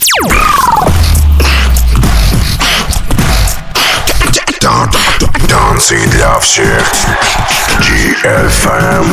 Танцы для всех. DFM.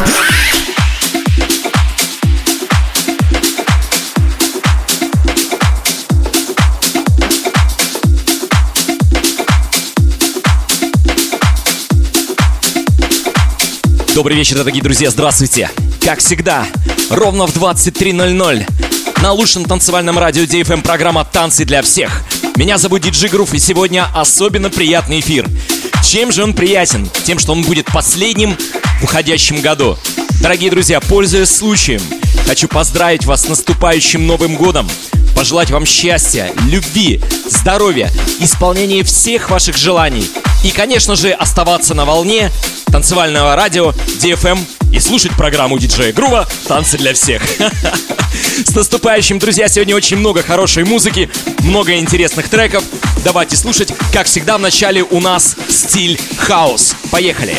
Добрый вечер, дорогие друзья, здравствуйте. Как всегда, ровно в 23:00 на лучшем танцевальном радио DFM программа «Танцы для всех». Меня зовут Диджей Грув, и сегодня особенно приятный эфир. Чем же он приятен? Тем, что он будет последним в уходящем году. Дорогие друзья, пользуясь случаем, хочу поздравить вас с наступающим Новым годом, пожелать вам счастья, любви, здоровья, исполнения всех ваших желаний и, конечно же, оставаться на волне танцевального радио DFM и слушать программу диджея Грува «Танцы для всех». С наступающим, друзья! Сегодня очень много хорошей музыки, много интересных треков. Давайте слушать. Как всегда, в начале у нас стиль хаус. Поехали!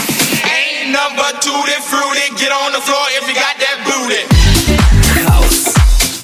Хаус.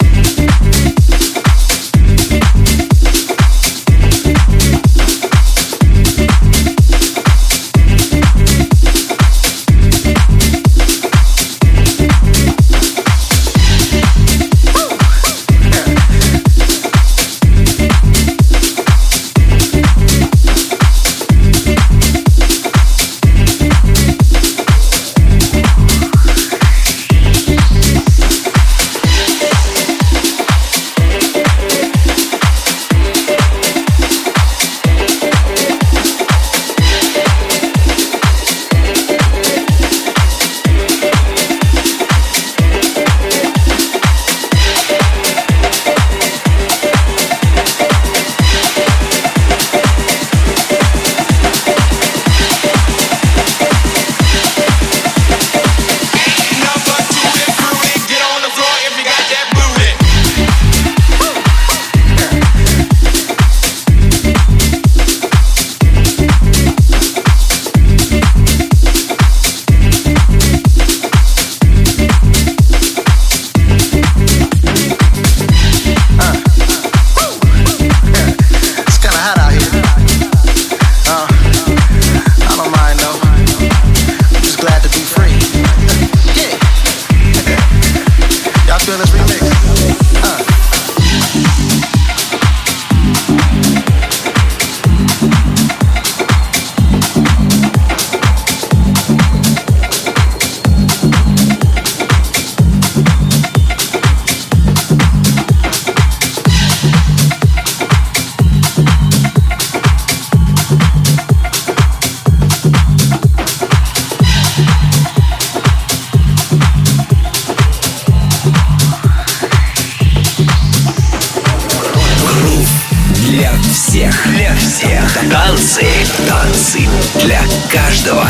Танцы для каждого.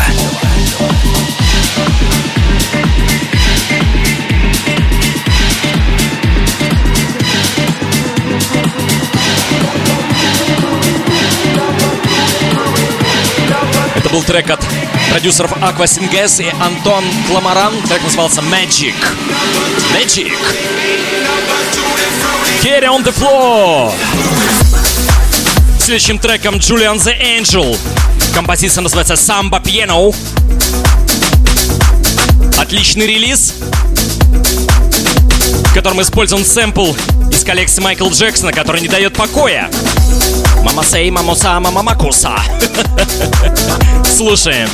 Это был трек от продюсеров Aqua Singhes и Антон Кламаран. Трек назывался Magic. Magic. Carry on the floor. Следующим треком Julian the Angel. Композиция называется Samba Piano. Отличный релиз, в котором использован сэмпл из коллекции Майкла Джексона, который не дает покоя. Мама сей, мамоса, мама макуса. Слушаем.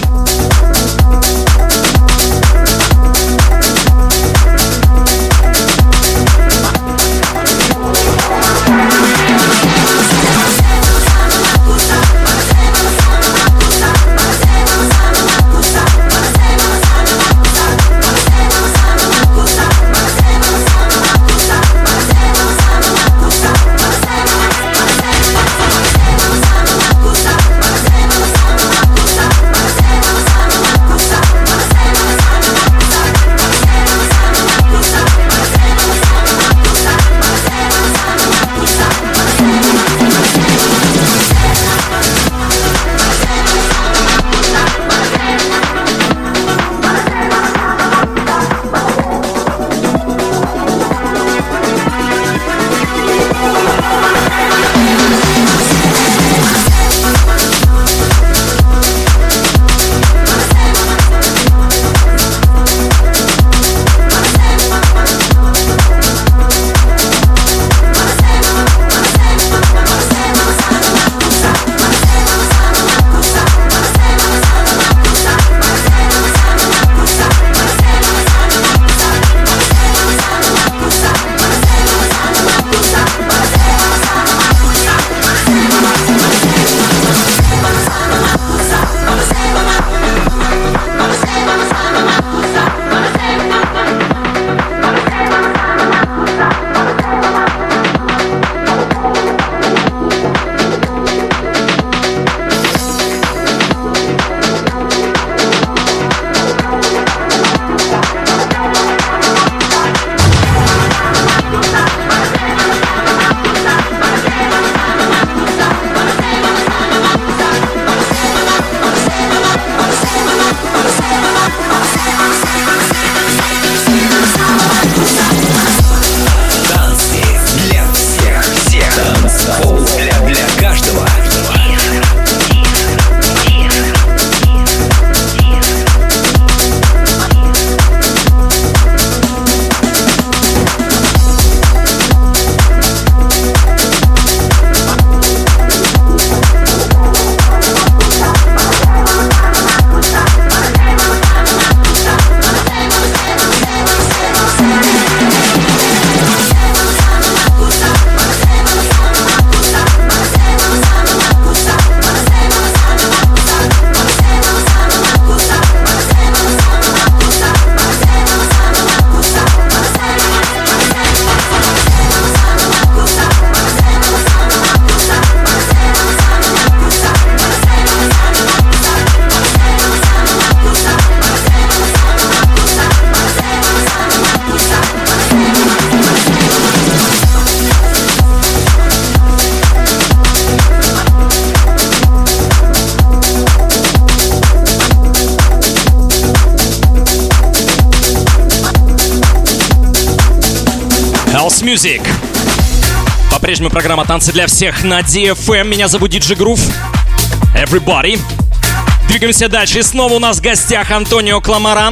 Music. По-прежнему программа «Танцы для всех» на DFM. Меня зовут DJ Groove. Everybody. Двигаемся дальше. И снова у нас в гостях Антонио Кламаран.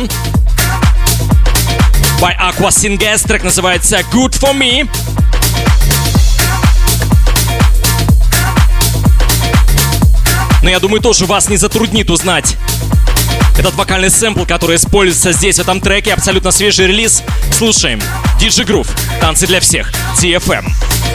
By Aqua Singes. Трек называется Good For Me. Но я думаю, тоже вас не затруднит узнать этот вокальный сэмпл, который используется здесь, в этом треке. Абсолютно свежий релиз. Слушаем. DJ Groove. Танцы для всех. DFM.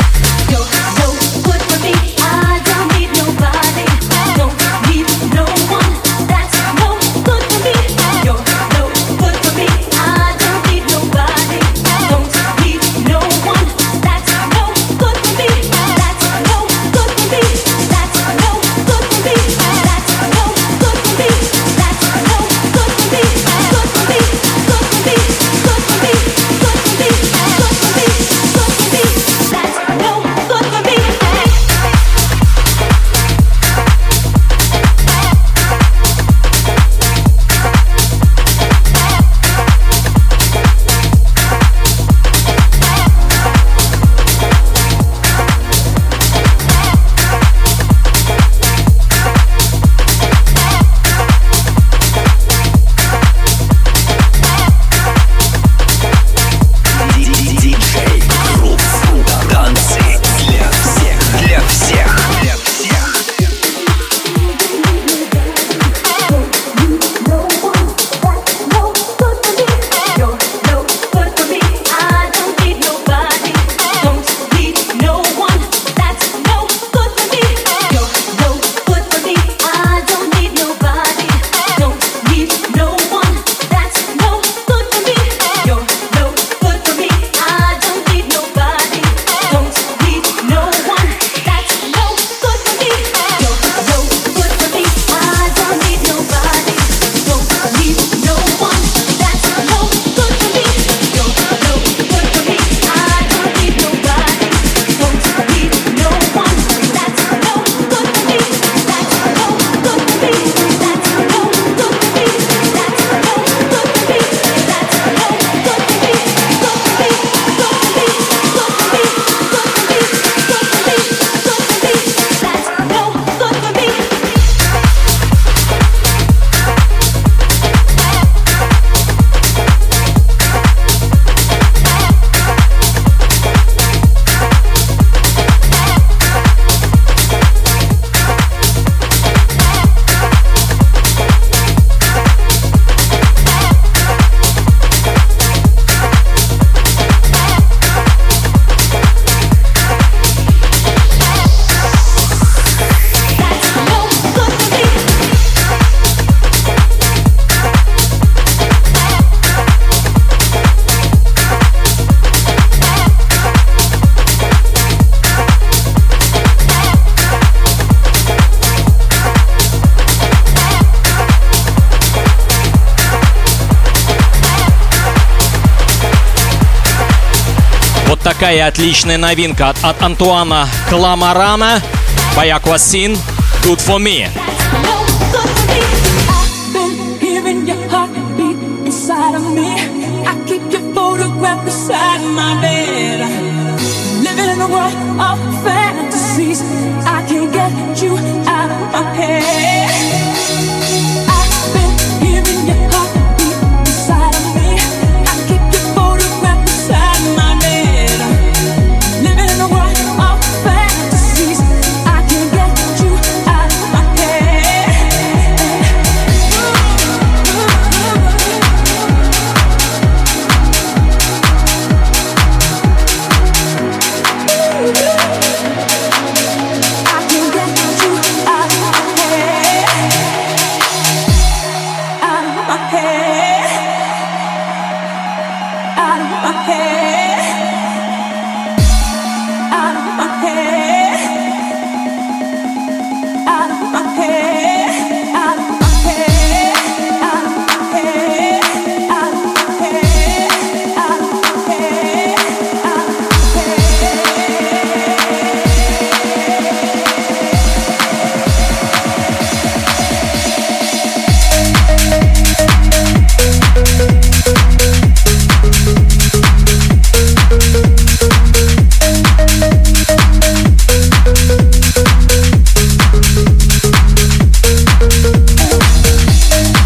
Такая отличная новинка от Антуана Кламарана. By Aqua Sin, Good For Me.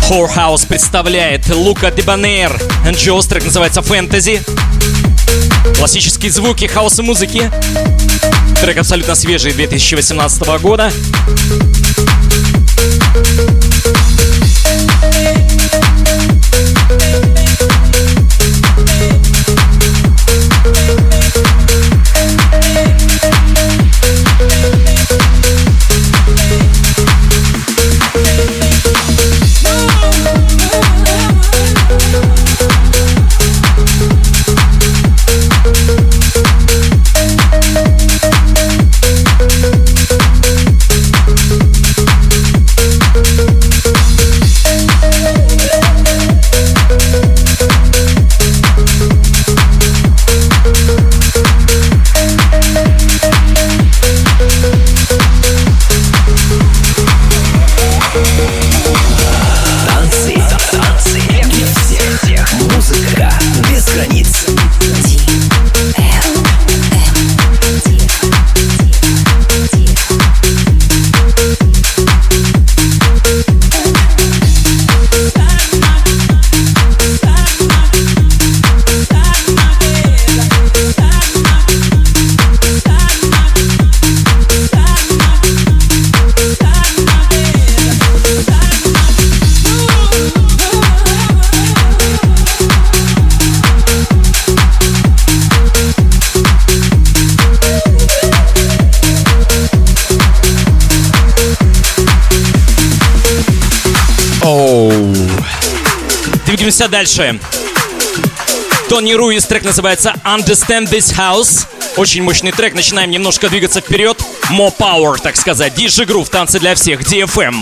Whorehouse представляет Лука Дебонейр and Joss, трек называется «Fantasy». Классические звуки хаоса музыки. Трек абсолютно свежий, 2018 года. Двигаемся дальше. Тони Руис, трек называется Understand This House. Очень мощный трек, начинаем немножко двигаться вперед. More power, так сказать. DJ Groove, танцы для всех, DFM.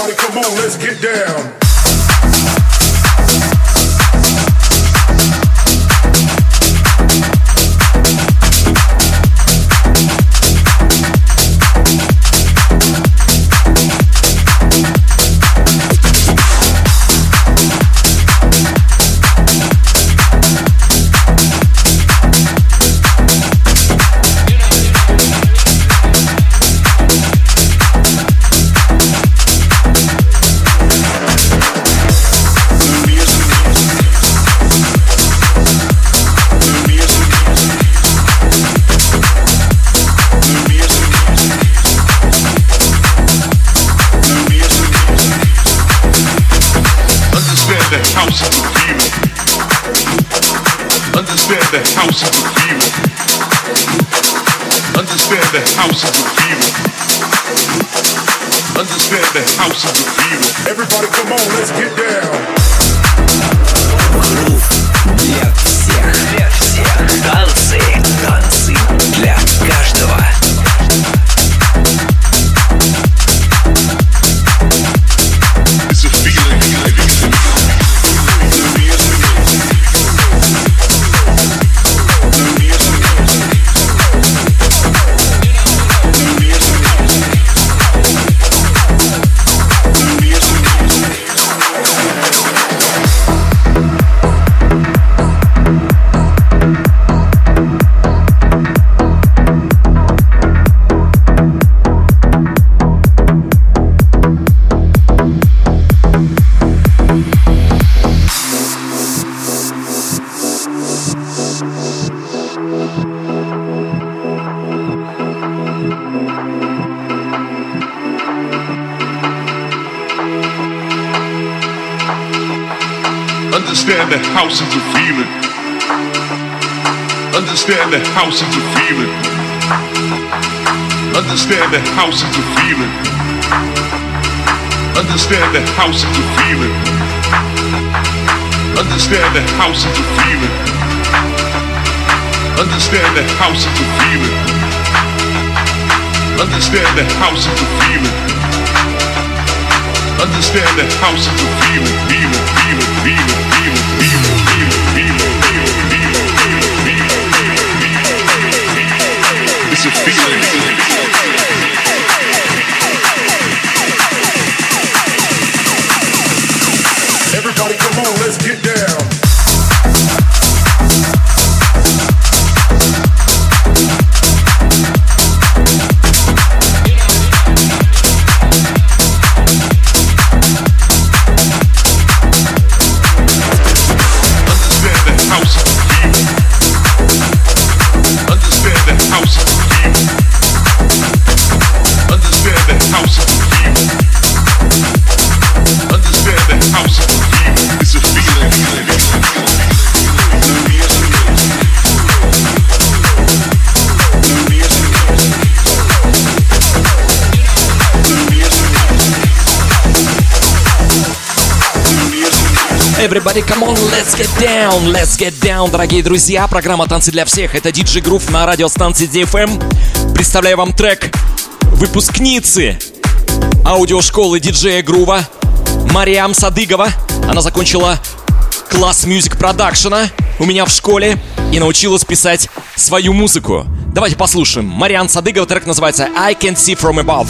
Understand the house of the feeling. Understand the house of the feeling. Understand the house of the feeling. Everybody come on, let's get down. Для всех, для всех. Танцы, танцы для каждого. It's a feeling. Understand the house is a feeling. Understand the house is a feeling. Understand the house is a feeling. Understand the house is a feeling. Understand the house is a feeling. Understand the house is a feeling. Understand the house is a feeling. Understand the house is a feeling. Feeling, feeling, feeling, feeling, feeling, feeling, feeling, feeling, feeling, feeling. It's a feeling. Everybody come on, let's get down. Everybody, come on, let's get down, дорогие друзья. Программа «Танцы для всех». Это DJ Groove на радиостанции DFM. Представляю вам трек выпускницы аудиошколы диджея Грува Мариам Садыгова. Она закончила класс Music Production у меня в школе и научилась писать свою музыку. Давайте послушаем. Мариам Садыгова, трек называется I Can See From Above.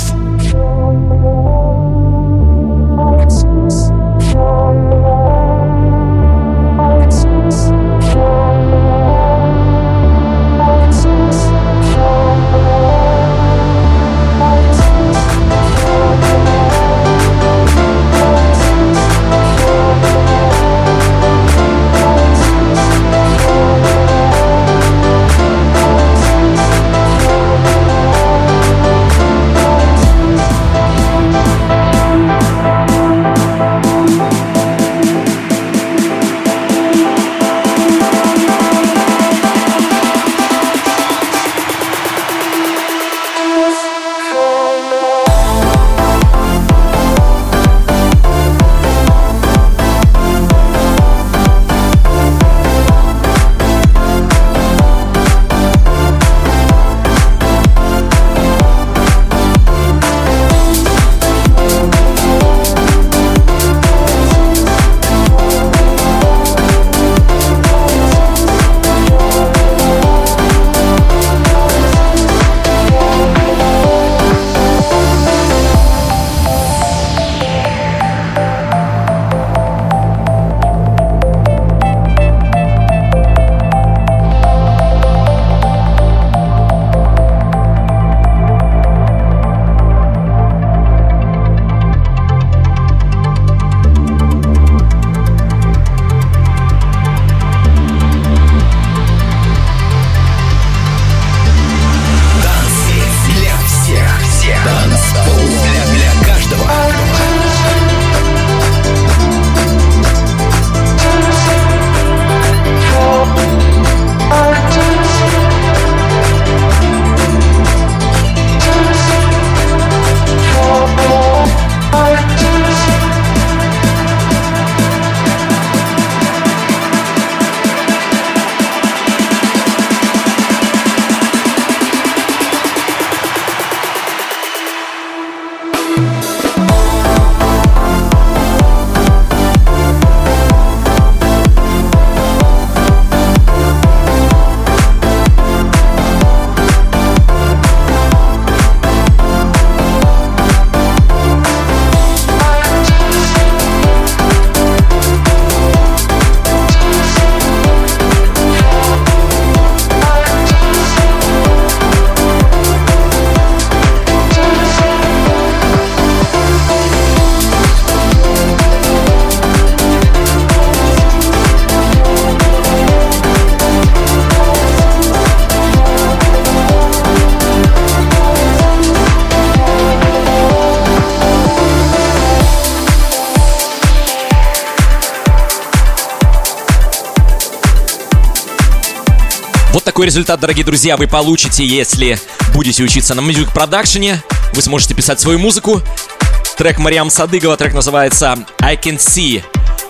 Вот такой результат, дорогие друзья, вы получите, если будете учиться на Music Production. Вы сможете писать свою музыку. Трек Мариам Садыгова, трек называется I Can See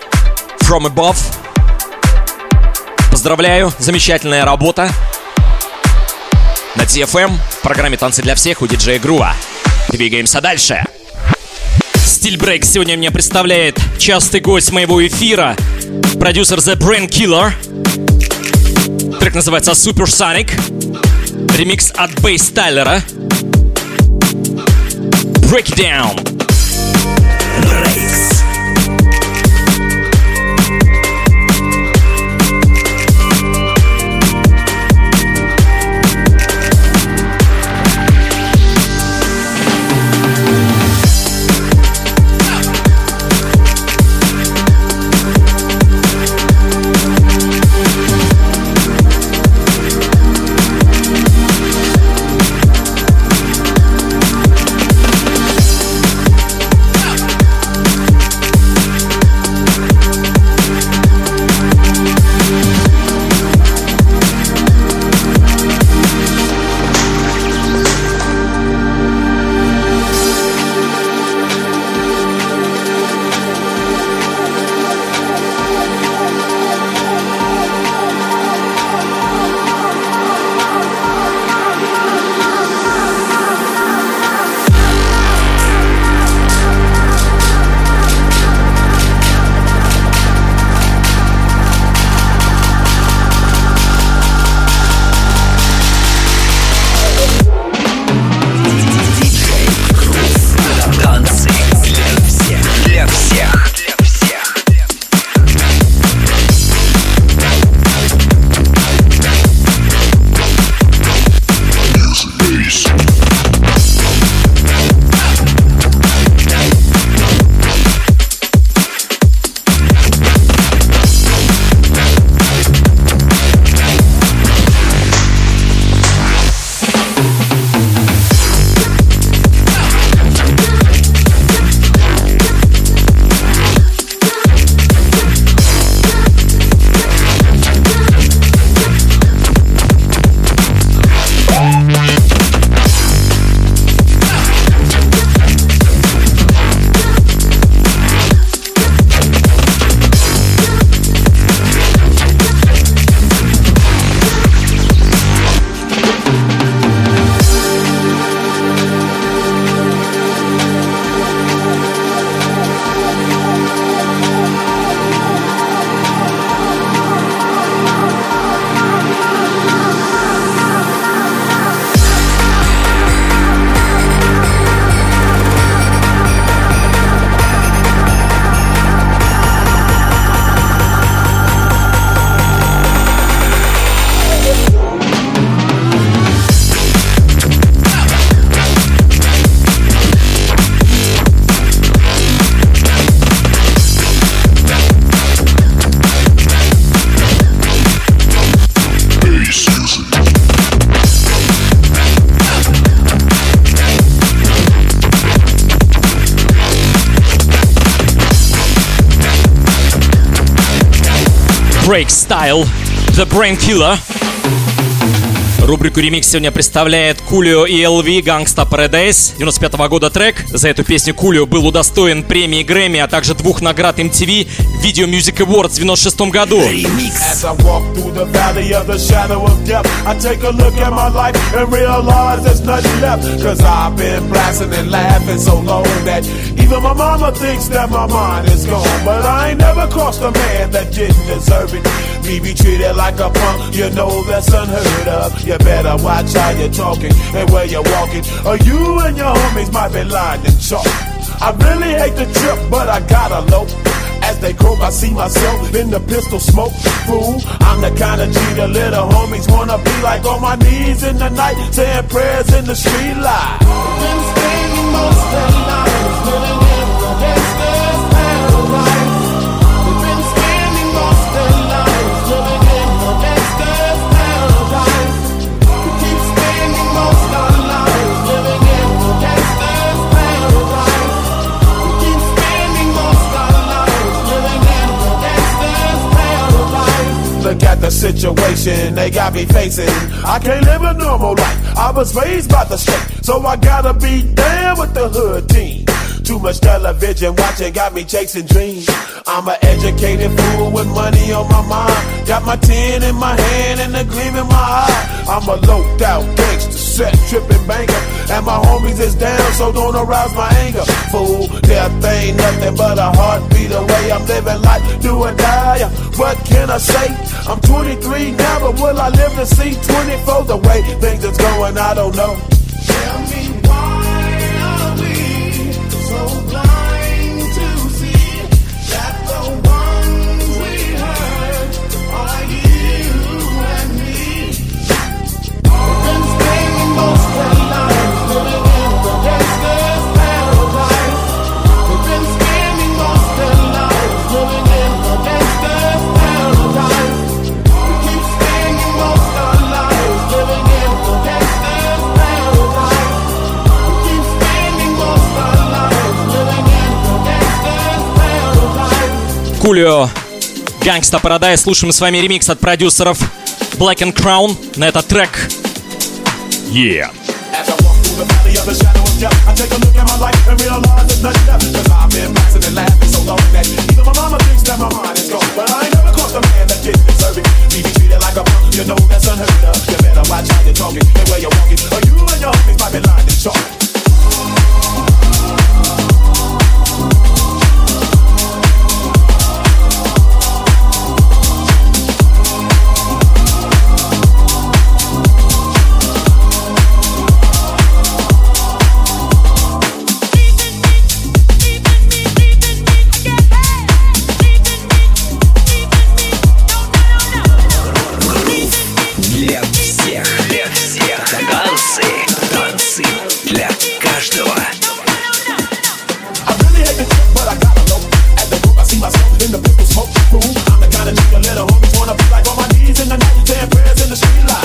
From Above. Поздравляю, замечательная работа. На TFM в программе «Танцы для всех» у диджея Грува. Двигаемся дальше. Стиль брейк сегодня мне представляет частый гость моего эфира, продюсер The Brain Killer. Трек называется Supersonic. Ремикс от Бейс Тайлера. Break it down. Breaks. Drake Style, The Brain Killer. Рубрику «Ремикс» сегодня представляет Кулио и LV «Gangsta Paradise», 95-го года трек. За эту песню Кулио был удостоен премии Грэмми, а также 2 наград MTV Video Music Awards в 96 году. Ремикс. You better watch how you're talking and where you're walking, or you and your homies might be lying in chalk. I really hate the trip, but I gotta low. As they croak, I see myself in the pistol smoke. Fool, I'm the kind of G the little homies wanna be like, on my knees in the night, saying prayers in the street light. Been spending most of their lives living in the gangster's paradise. They've been spending most of their lives living in the gangster's paradise. We keep spending most of our lives living in the gangster's paradise. We keep spending most of our lives living in the gangster's paradise. Look at the situation they got me facing. I can't live a normal life. I was raised by the state, so I gotta be down with the hood team. Too much television watching got me chasing dreams. I'm an educated fool with money on my mind. Got my tin in my hand and a gleam in my eye. I'm a loped out gangster, set tripping banker, and my homies is down, so don't arouse my anger. Fool, death ain't nothing but a heartbeat away. I'm living life, do or die. What can I say? I'm 23 now, but will I live to see 24? The way things is going, I don't know. Tell me why are we so blind to see that the ones we hurt are you and me? We've been spending most of our lives living in the gangster's paradise. We've been spending most of our lives living in the gangster's paradise. We keep spending most of our lives living in the gangster's paradise. We keep spending most of our lives living in the gangster's paradise. Кулио, Gangsta Paradise. Слушаем с вами ремикс от продюсеров Black and Crown на этот трек. Yeah. As I walk through the valley of the shadow of death, I take a look at my life and realize there's nothing left. Cause I've been bouncing and laughing so long that even my mama thinks that my mind is gone. But I ain't never crossed a man that didn't deserve it. Me be treated like a punk, you know that's unheard of. You better watch how you're talking and where you're walking, or you and your homies might be lying in chalk. Танцы для каждого. I really hate the trip, but I gotta know. At the group, I see myself in the pistol smoke. Fool, I'm the kind of nigga little homies wanna be like, on my knees in the night, saying prayers in the street light.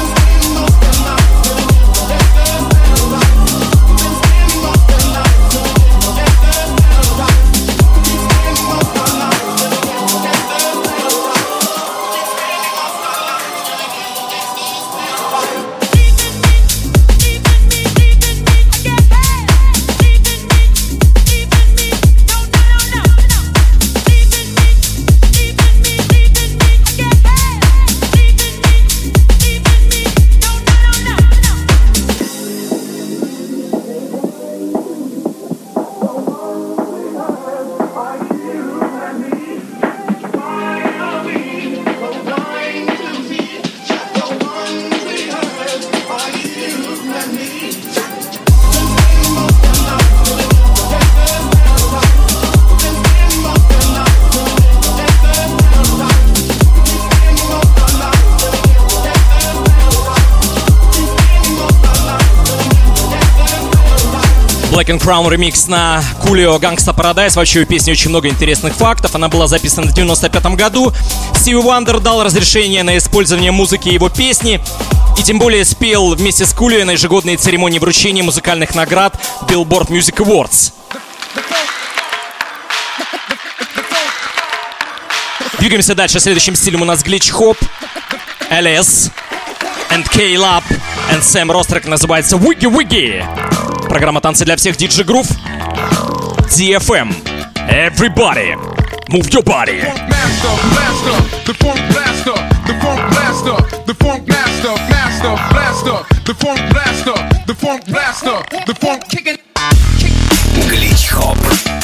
Black and Crown ремикс на Кулио Gangsta Paradise. Вообще у песни очень много интересных фактов. Она была записана в 95 году. Стиви Вандер дал разрешение на использование музыки его песни. И тем более спел вместе с Кулио на ежегодной церемонии вручения музыкальных наград Billboard Music Awards. Двигаемся дальше. Следующим стилем у нас Glitch Hop, LS, and K-Lab, and Sam Ross. Трек называется Wiggy Wiggy. Программа «Танцы для всех», DJ Groove, DFM. Everybody, move your body. The funk blaster, the funk blaster, the funk master, master, blaster, the funk blaster, the funk blaster, the funk kicking. Glitch Hop.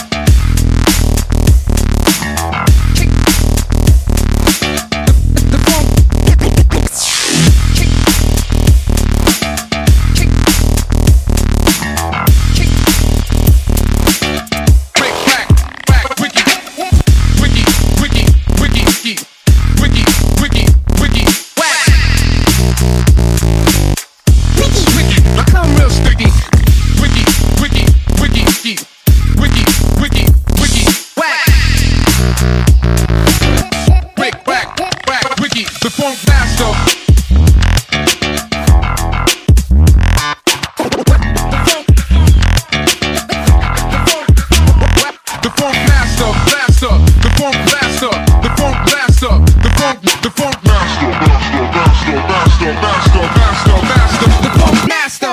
The funk master. The funk master, blaster. The funk blaster. The funk blaster. The funk master. Master. The funk master.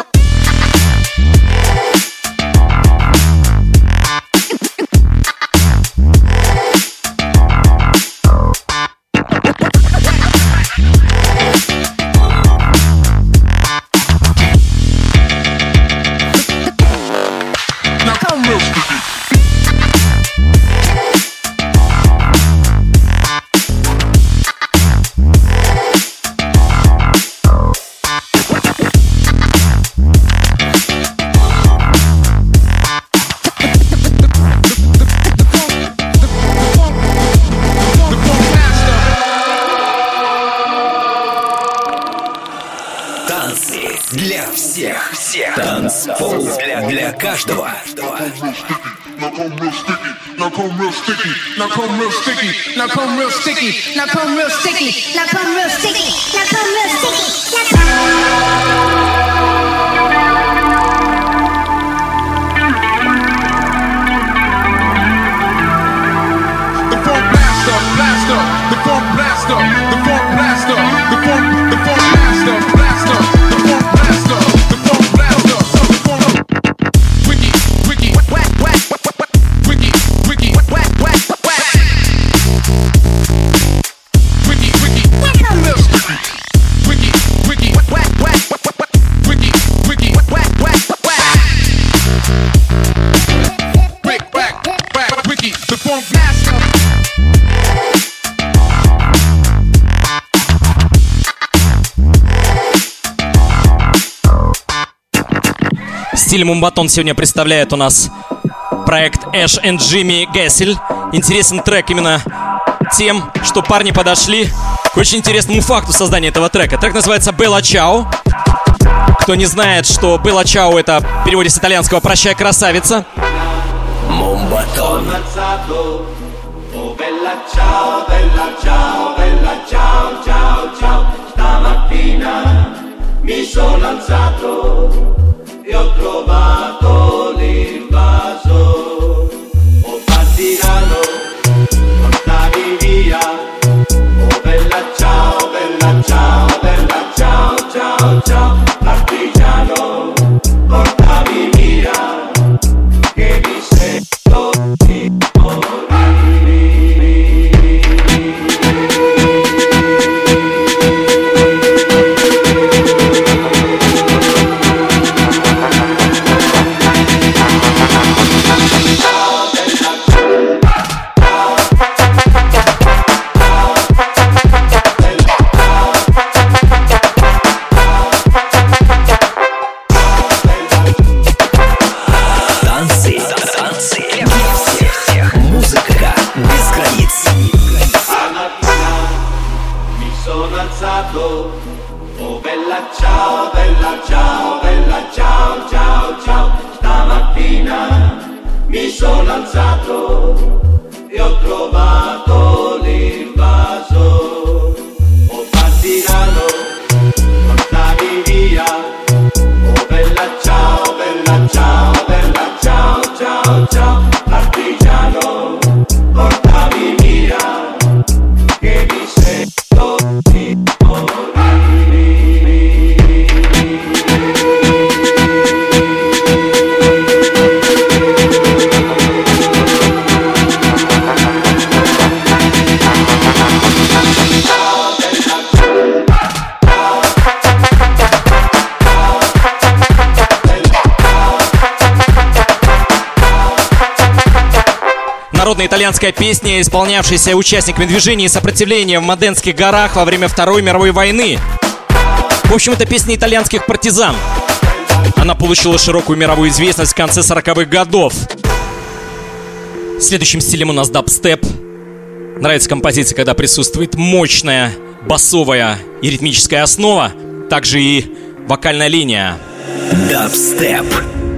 Для всех. Танцпол для каждого. Now come real sticky. Now come real sticky. Now come real sticky. Now come real sticky. Now come real sticky. Now come real sticky. Now come real sticky. The funk blaster, blaster. The funk blaster. The funk blaster. The funk blaster, blaster. The funk blaster. The funk blaster. The funk wiki, wiki, whack, whack, whack, wiki, wiki, whack, whack, whack. Wiki, wiki, real sticky. Wiki, wiki, whack, whack, whack, wiki, wiki, whack, whack, whack. Brick, whack, whack, wiki, the funk master. Стиль Мумбатон сегодня представляет у нас проект Ash and Jimmy Gessel. Интересен трек именно тем, что парни подошли к очень интересному факту создания этого трека. Трек называется Bella Ciao. Кто не знает, что Bella Ciao — это в переводе с итальянского «Прощай, красавица». Мумбатон. E ho trovato l'invaso. Oh partigiano, portami via. Oh bella ciao, bella ciao, bella ciao, ciao, ciao. Partigiano, portami via. Che mi sento di morire. Народная итальянская песня, исполнявшаяся участниками движения сопротивления в Моденских горах во время Второй мировой войны. В общем, это песня итальянских партизан. Она получила широкую мировую известность в конце 40-х годов. Следующим стилем у нас дабстеп. Нравится композиция, когда присутствует мощная басовая и ритмическая основа, также и вокальная линия. Дабстеп.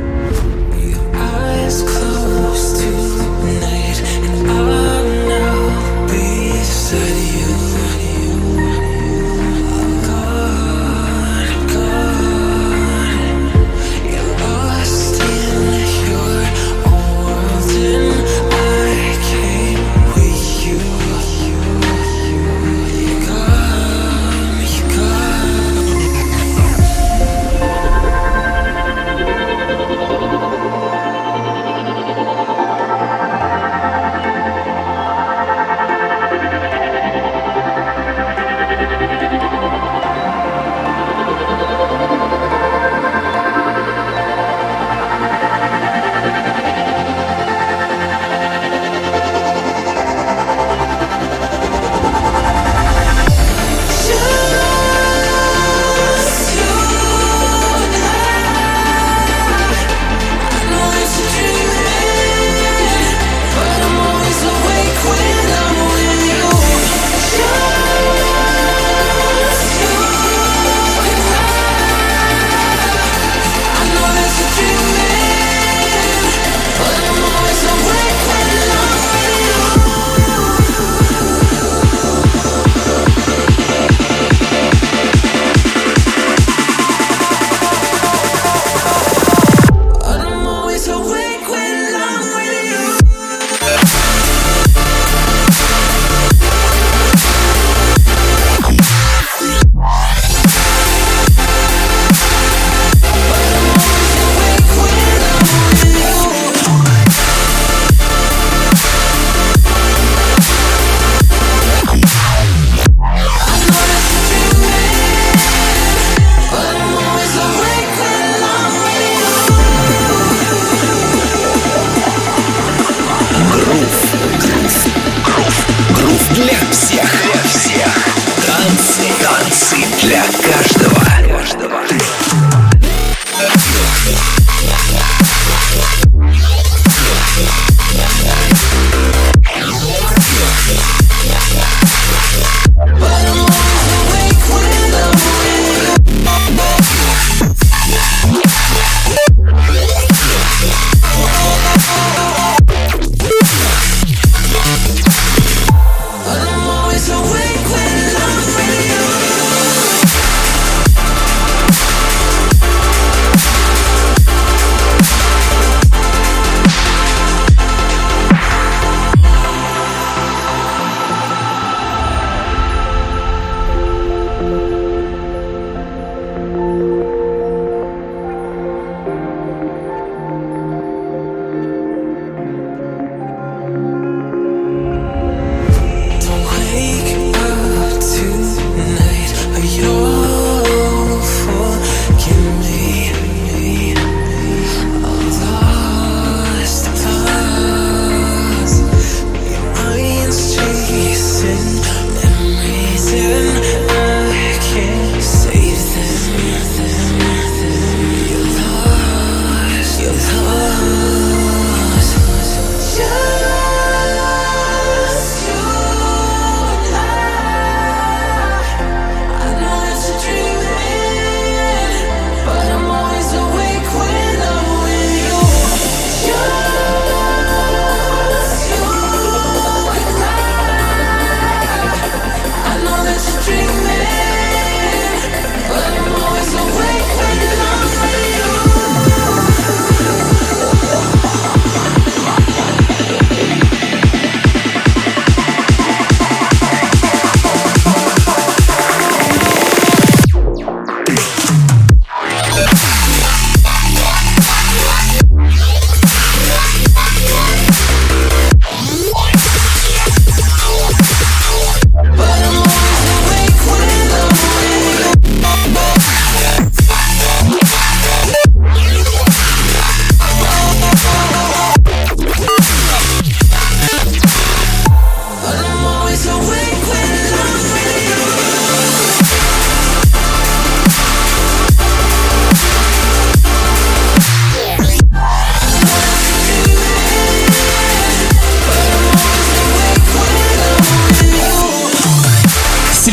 Танцы для каждого.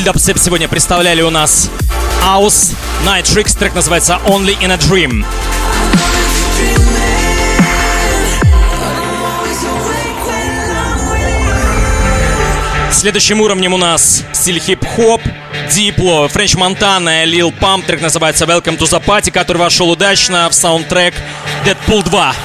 Дабстеп сегодня представляли у нас House, Night Tricks, трек называется Only in a Dream. Следующим уровнем у нас стиль хип-хоп, Diplo, French Montana, Lil Pump, трек называется Welcome to the Party, который вошел удачно в саундтрек Deadpool 2.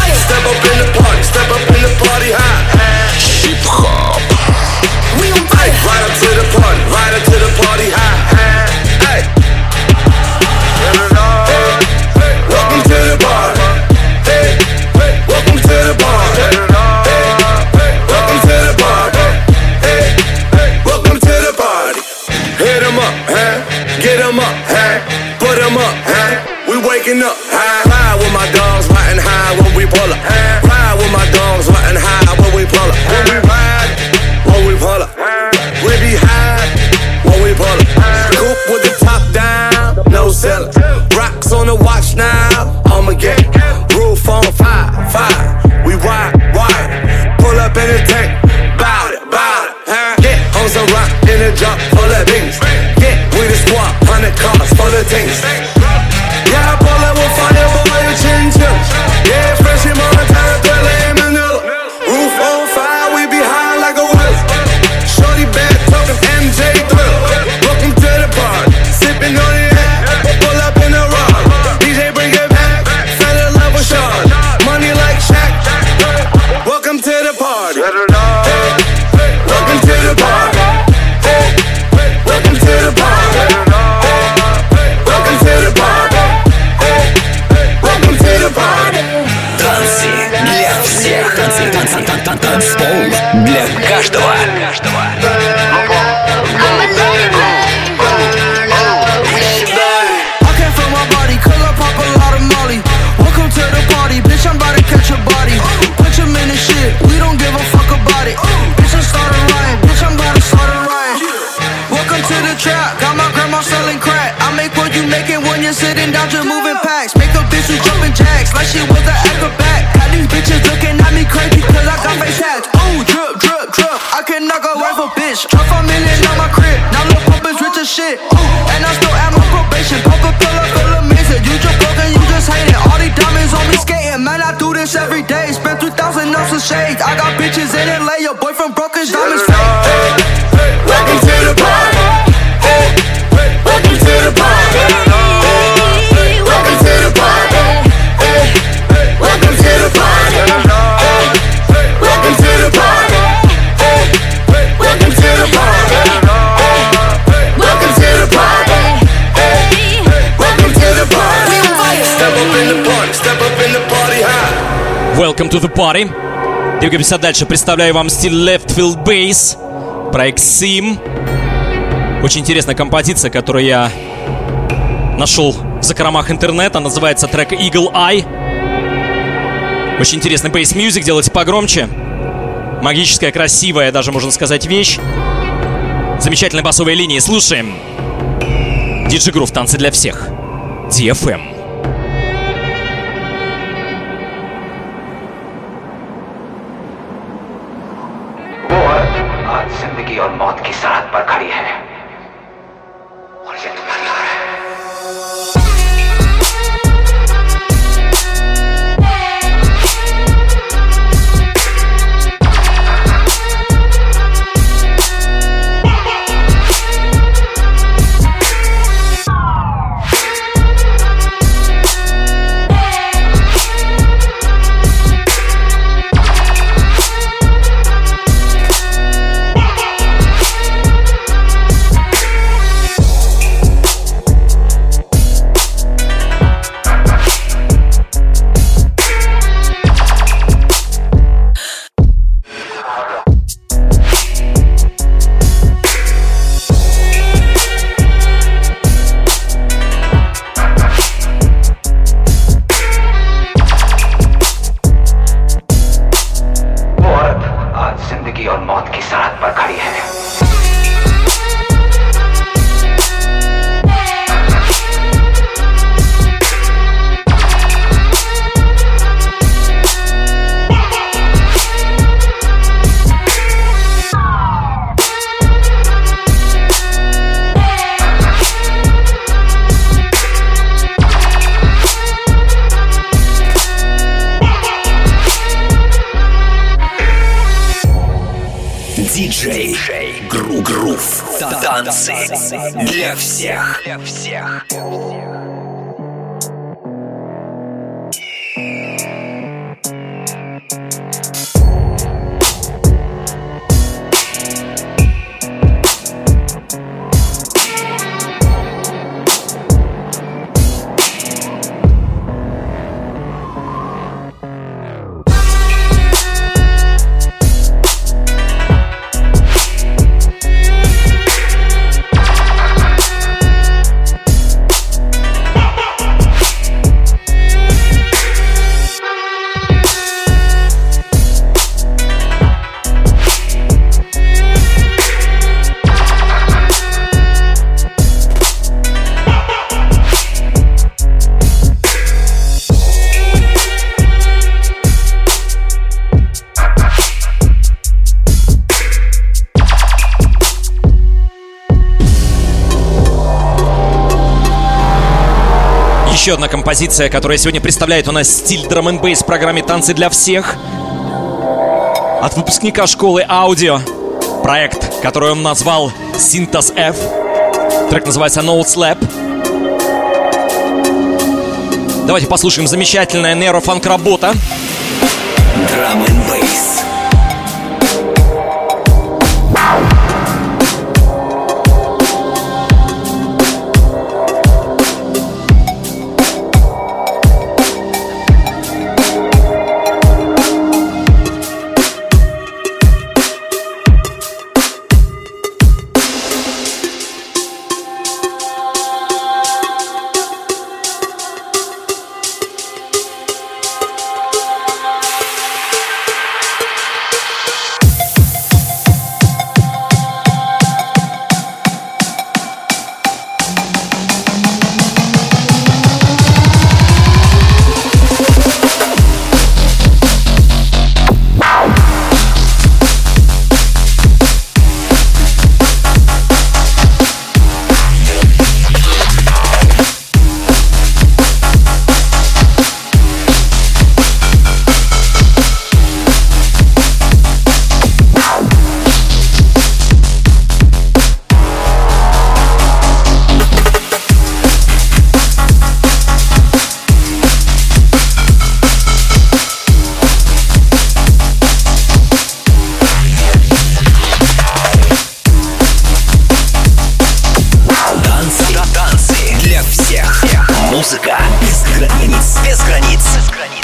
Хип-хоп. Right up to the party, right up to the party, hey. Welcome to the party, welcome to the party, welcome to the party, welcome to the party. Hit 'em up, huh? Get 'em up, huh? Put 'em up, huh? We waking up, high, ride with my dogs, riding high when we pull up. Ride with my dogs, riding high when we pull up. When we ride, when we pull up. We be high when we pull up. Coupe with the top down, no cellar. Rocks on the watch now, I'ma get roof on fire. We ride, pull up in the tank, bout it, Get on some rock in the drop full of beans. Get with the squad, 100 cars full of things. Yeah, I pull up with fire, boy, you chin. Yeah, fresh in Montana, Thriller in Manila. Roof on fire, we be high like a whale. Shorty bad talking MJ Thriller. Welcome to the party, sipping on the air. Pull up in the rock, DJ bring it back. Fell in love with Sean, money like Shaq. Welcome to the party. Welcome to the party. Welcome to the party. Welcome to the party. Welcome to the party. Танцы для всех. Танцпол для каждого. Sitting down just moving packs. Make a bitch who's jumping jacks like she was an acrobat. Had these bitches looking at me crazy cause I got face hats. Ooh, drip. I can knock a wife a bitch. Drop $1 million on my crib. Now Lil Pump is rich as shit. Ooh, and I still at my probation. Pump a pill up, feel amazing. You just broke and you just hate it. All these diamonds on me skating. Man, I do this every day. Spend 3,000 on some shades. I got bitches in LA. Your boyfriend broke his diamonds fake. Welcome to the party. Welcome to the party. Welcome to the party. Welcome to the party. Welcome to the party. Welcome to the party. Welcome to the party. Welcome to the party. Step up in the party. Step up in the party high. Welcome to the Party. Двигаемся дальше. Представляю вам стиль Left Field Bass, проект Sim. Очень интересная композиция, которую я нашел в закромах интернета. Называется трек Eagle Eye. Очень интересный бейс-мьюзик, делайте погромче. Магическая, красивая, даже можно сказать, вещь. Замечательные басовые линии. Слушаем. DJ Groove, танцы для всех. DFM. आज जिंदगी और मौत की सरहद पर खड़ी है और ये तुम्हारी हार है। Танцы для всех. Еще одна композиция, которая сегодня представляет у нас стиль драм-н-бейс в программе «Танцы для всех». От выпускника школы аудио. Проект, который он назвал Synthas F. Трек называется No Slap. Давайте послушаем замечательная нейрофанк-работа. Драм-н-бейс. Музыка без границ, без границ, без границ.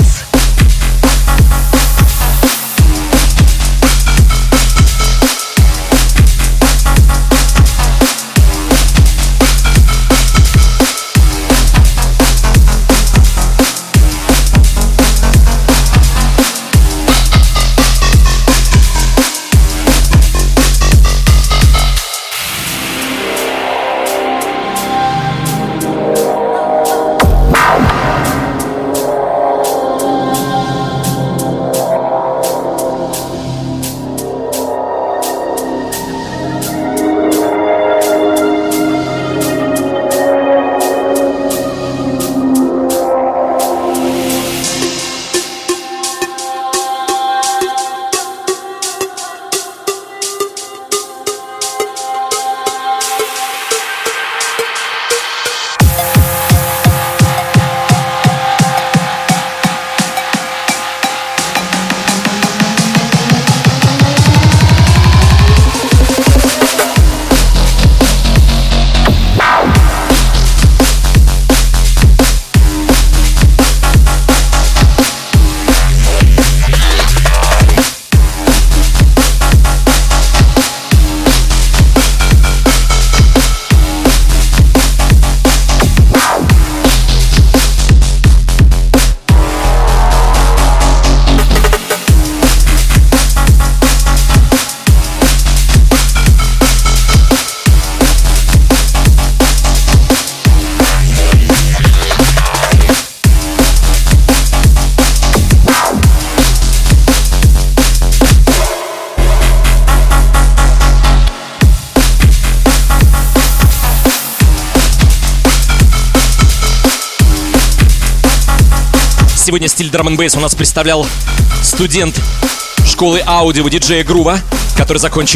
Сегодня стиль драм-н-бейс у нас представлял студент школы аудио диджея Грува, который закончил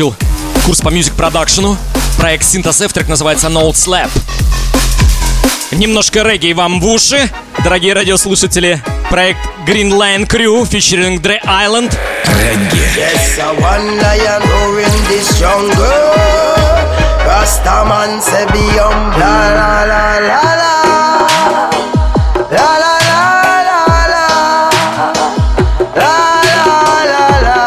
Курс по мьюзик-продакшену. Проект Synthos F, трек называется Note Slap. Немножко регги вам в уши, дорогие радиослушатели. Проект Green Lion Crew, featuring Dre Island. Регги. Yes, I wonder you know in this jungle. Rastaman say be la la la la la. La la la la la. La la la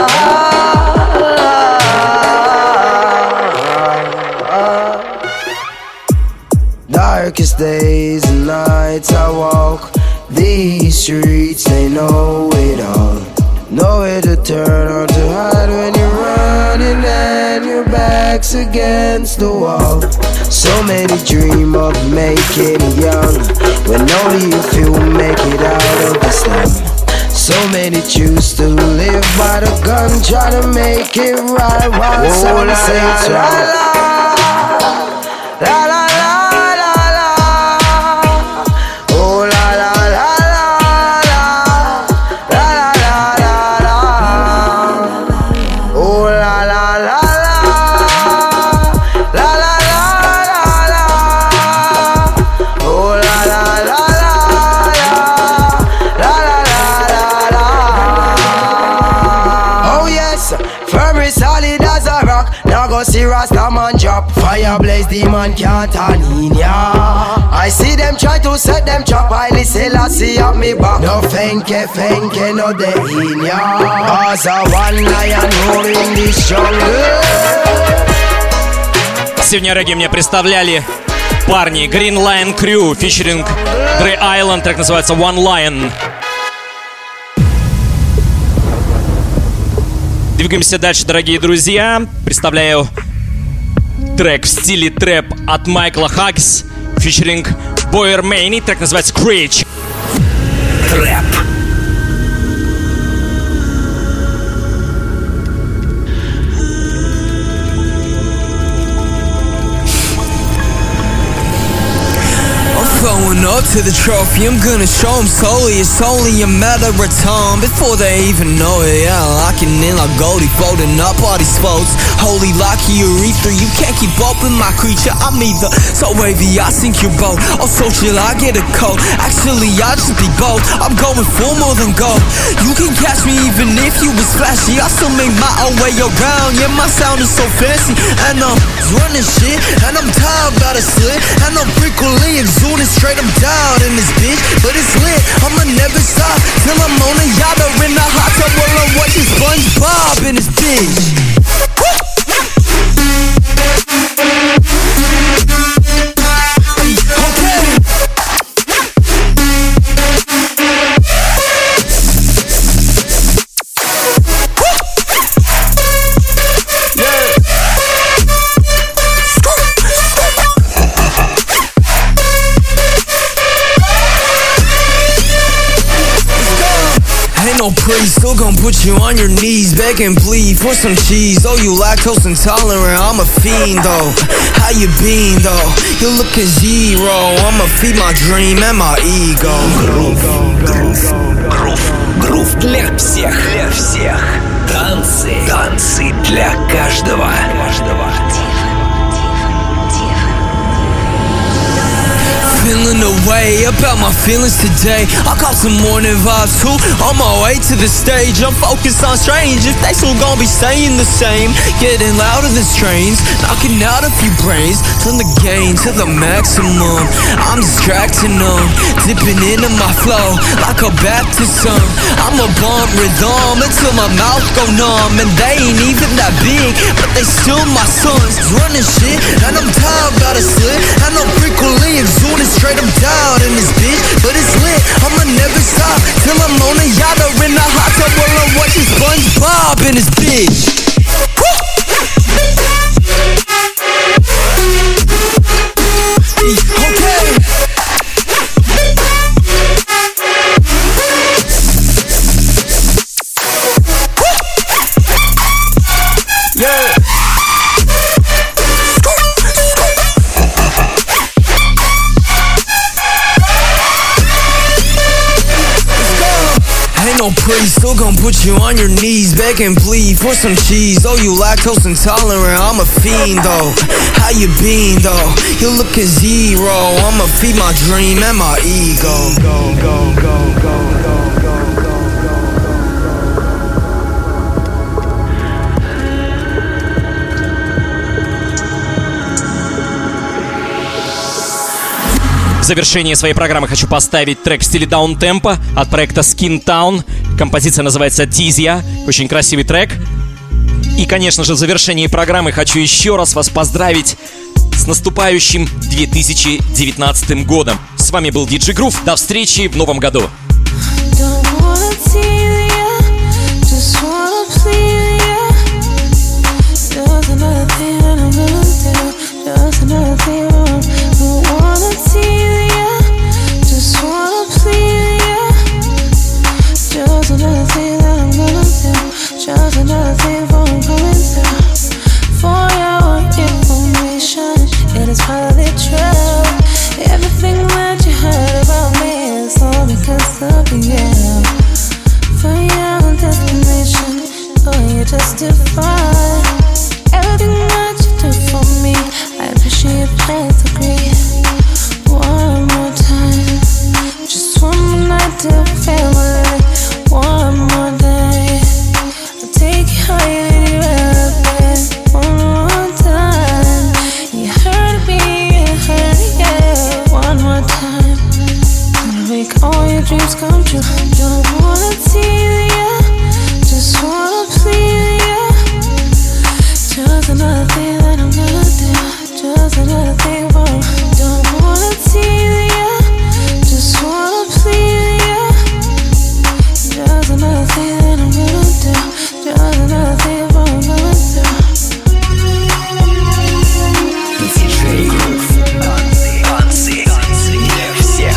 la. Darkest days and nights I walk these streets, they know it all. Nowhere to turn or to hide when you're running and your back's against the wall. So many dream of making it young, when only a few make it out of the slum. So many choose to live by the gun, try to make it right while some say it's wrong. La la la la la. Oh la la la la la. La la la la la. Oh la la la la. La la la la la. Oh la la la la la. La la la la la. Oh yes, firm is solid as a rock. Now go see Rastaman drop. Fire blaze, demon can't turn in ya. I see them try to set them trap. I listen, I see up me back. No fenke, no they in ya. As a one lion roar in this jungle. Сегодня регги мне представляли парни Green Lion Crew, featuring Dre Island, трек называется One Lion. Двигаемся дальше, дорогие друзья. Представляю трек в стиле трэп от Майкла Хаггис, featuring Boyer Maney, трек называется Screech. Трэп. Going up to the trophy, I'm gonna show them slowly. It's only a matter of time before they even know it. Yeah, locking in like Goldie, folding up all these floats. Holy locky urethra, you can't keep up with my creature. I'm either so wavy, I sink your boat, or social, I get a coat. Actually, I just be both. I'm going for more than gold. You can catch me even if you was flashy. I still make my own way around. Yeah, my sound is so fancy, and I'm running shit, and I'm tired, got a slit, and I'm frequently exuding. Straight I'm down in this bitch, but it's lit. I'ma never stop till I'm on a yacht or in a hot tub while I'm watching SpongeBob in this bitch. No priest, still gon' put you on your knees, beg and plead for some cheese. Oh, you lactose intolerant, I'm a fiend though. How you been though? You looking zero. I'ma feed my dream and my ego. Грув для всех. Танцы для каждого. Feeling away about my feelings today. I caught some morning vibes too. On my way to the stage, I'm focused on strange. If they still gon' be staying the same, getting louder than strains, knocking out a few brains. Turn the gain to the maximum. I'm distracting them, dipping into my flow like a Baptist son. I'm a bump rhythm until my mouth go numb, and they ain't even that big, but they still my sons. Running shit, and I'm tired, got a slit, and I'm frequently exuding. Straight I'm down in this bitch, but it's lit. I'ma never stop till I'm on a yacht or in a hot tub while I'm watching SpongeBob in this bitch. Okay. Yeah. ain't no priest, still gon' put you on your knees, beg and plead for some cheese. Oh, you lactose intolerant, I'm a fiend though. How you been though? You look at zero. I'ma feed my dream and my ego. В завершении своей программы хочу поставить трек в стиле даунтемпа от проекта Skin Town. Композиция называется Tizia. Очень красивый трек. И, конечно же, в завершении программы хочу еще раз вас поздравить с наступающим 2019 годом. С вами был DJ Groove. До встречи в новом году. Just another thing for coming through. For your information, it is probably true. Everything that you heard about me is all because of you. For your destination, oh, you justify everything that you do for me. I appreciate that degree. One more time, just one more night to feel my life. One more day. Take you higher than you ever been. One more time. You heard me, you heard it, yeah. One more time. Gonna make all your dreams come true. Don't wanna tease ya, just wanna please ya. Just another thing that I'm gonna do. Just another thing for you. Don't wanna tease ya, just wanna please ya. Just another thing that I'm gonna do. Just another thing for I'm going through. DJ Groove. Танцы для всех.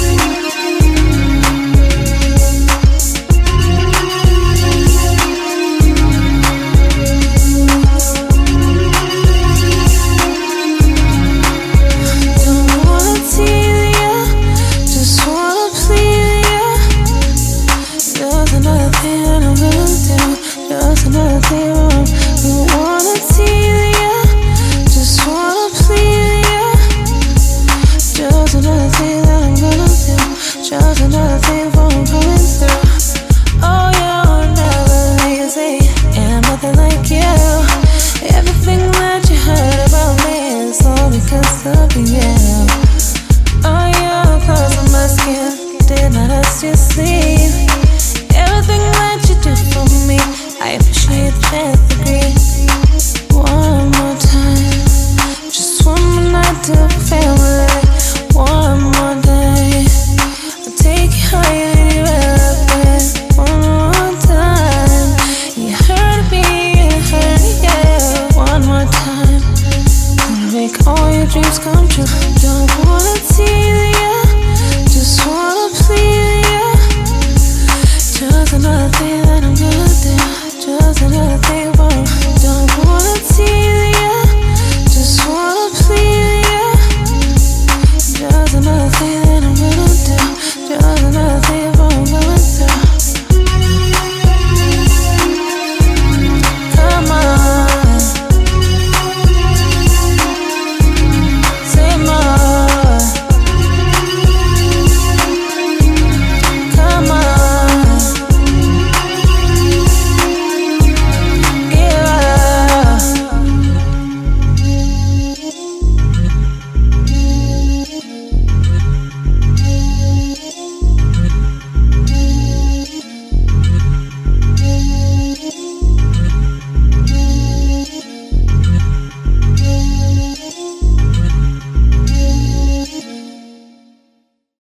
Don't wanna tease ya, just wanna please ya. Just another thing that I'm gonna do. Just another thing